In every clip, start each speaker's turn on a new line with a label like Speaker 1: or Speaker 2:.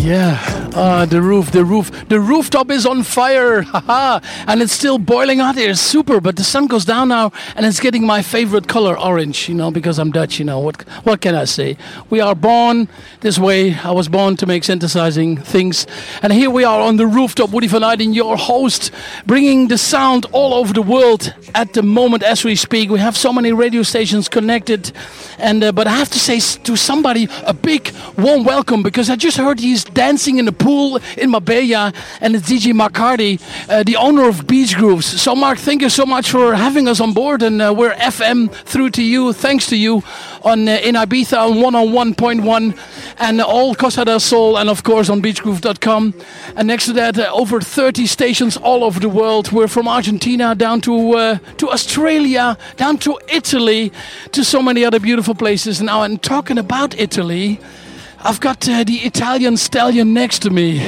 Speaker 1: The rooftop is on fire, and it's still boiling hot here. Super, but the sun goes down now, and it's getting my favorite color, orange. Because I'm Dutch. What can I say? We are born this way. I was born to make synthesizing things, and here we are on the rooftop. Woody van Eyden, your host, bringing the sound all over the world at the moment as we speak. We have so many radio stations connected, and but I have to say to somebody a big warm welcome, because I just heard he's dancing in the pool in Marbella, and it's DJ Mark Hardy, the owner of Beach Grooves. So Mark, thank you so much for having us on board, and we're FM through to you, thanks to you, on in Ibiza on 101.1 and all Costa del Sol, and of course on beachgroove.com. And next to that, over 30 stations all over the world. We're from Argentina down to Australia, down to Italy, to so many other beautiful places. Now, and talking about Italy, I've got the Italian stallion next to me,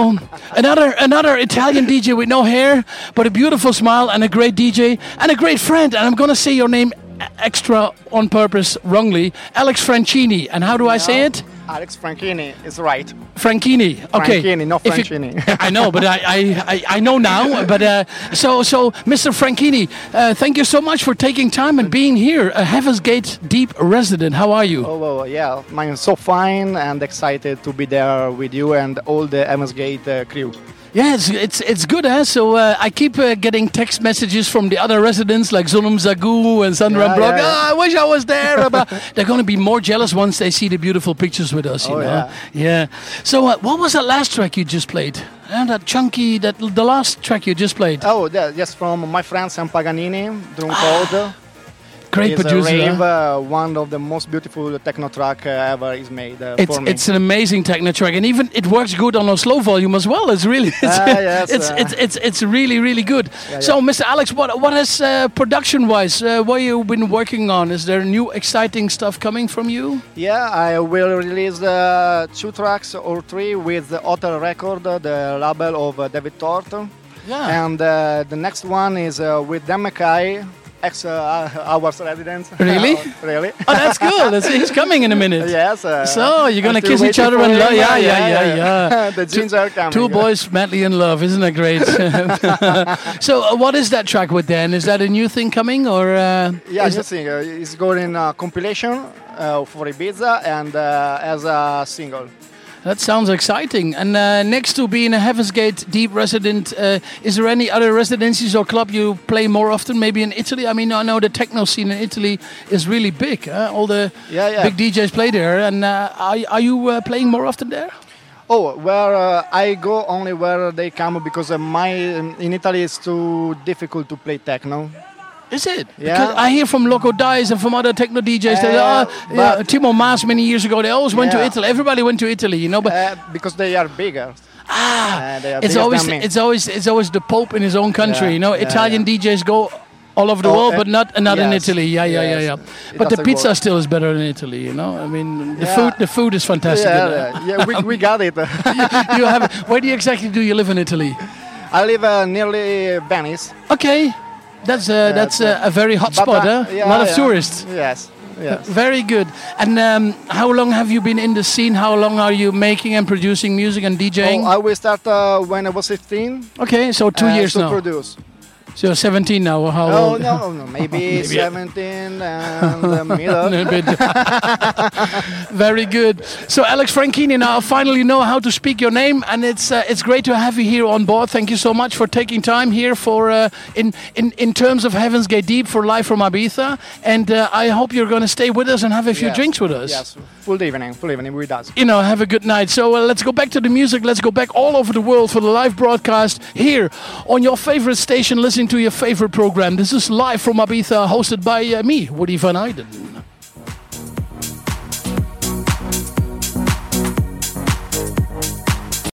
Speaker 1: another Italian DJ with no hair, but a beautiful smile, and a great DJ and a great friend. And I'm going to say your name extra on purpose wrongly, Alex Franchini. And how do I say it?
Speaker 2: Alex Franchini is right.
Speaker 1: Franchini, okay.
Speaker 2: Franchini, not Franchini.
Speaker 1: I know, but I know now. But so Mr. Franchini, thank you so much for taking time and being here. A Heaven's Gate Deep resident. How are you?
Speaker 2: Oh, well, yeah, I'm so fine and excited to be there with you and all the Heaven's Gate crew.
Speaker 1: Yeah, it's good, huh? So I keep getting text messages from the other residents like Zonum Zagu and Sandra Brock. I wish I was there. But they're going to be more jealous once they see the beautiful pictures with us, you know? Yeah. So what was that last track you just played? That chunky, the last track you just played?
Speaker 2: Oh, yes, from my friend Sam Paganini, Drum Code.
Speaker 1: Great producer.
Speaker 2: Rave, one of the most beautiful techno track ever is made for me.
Speaker 1: It's an amazing techno track, and even it works good on a slow volume as well. It's really it's really, really good. So, Mr. Alex, what has production wise? What you been working on? Is there new exciting stuff coming from you?
Speaker 2: Yeah, I will release 2 tracks or 3 with the Hotel Record, the label of David Thornton.
Speaker 1: Yeah.
Speaker 2: And the next one is with Dan Mackay, ex-hours residents.
Speaker 1: Really?
Speaker 2: Really?
Speaker 1: Oh, that's cool. He's coming in a minute.
Speaker 2: Yes.
Speaker 1: So you're gonna kiss each other and love? Yeah.
Speaker 2: The jeans are coming.
Speaker 1: Two boys madly in love, isn't that great? So what is that track with Dan? Is that a new thing coming, or?
Speaker 2: Yeah, new thing. It's going in a compilation for Ibiza and as a single.
Speaker 1: That sounds exciting. And next to being a Heaven's Gate Deep resident, is there any other residencies or club you play more often? Maybe in Italy? I mean, I know the techno scene in Italy is really big. All the big DJs play there. And are you playing more often there?
Speaker 2: Oh, where I go only where they come, because in Italy it's too difficult to play techno.
Speaker 1: Is it?
Speaker 2: Yeah.
Speaker 1: Because I hear from Loco Dice and from other techno DJs that Timo Maas many years ago, they always went to Italy. Everybody went to Italy, but
Speaker 2: because they are bigger.
Speaker 1: It's always the Pope in his own country. Italian DJs go all over the world, but not in Italy. Yeah. But the pizza still is better in Italy. I mean, the food is fantastic.
Speaker 2: We got it.
Speaker 1: You have it. Where do you live in Italy?
Speaker 2: I live nearly Venice.
Speaker 1: Okay. That's a very hot spot, huh? A lot of tourists.
Speaker 2: Yes.
Speaker 1: Very good. And how long have you been in the scene? How long are you making and producing music and DJing?
Speaker 2: I will start when I was 15.
Speaker 1: Okay, so 2 years now.
Speaker 2: Produce.
Speaker 1: So you're 17 now, or how old?
Speaker 2: No, maybe 17 and the middle.
Speaker 1: Very good. So Alex Franchini, now I finally know how to speak your name, and it's great to have you here on board. Thank you so much for taking time here for in terms of Heaven's Gate Deep for live from Ibiza, and I hope you're going to stay with us and have a few drinks with us.
Speaker 2: Yes, full evening with us.
Speaker 1: Have a good night. So let's go back to the music. Let's go back all over the world for the live broadcast here on your favorite station. Listening to your favorite program. This is live from Ibiza, hosted by me, Woody van Eyden.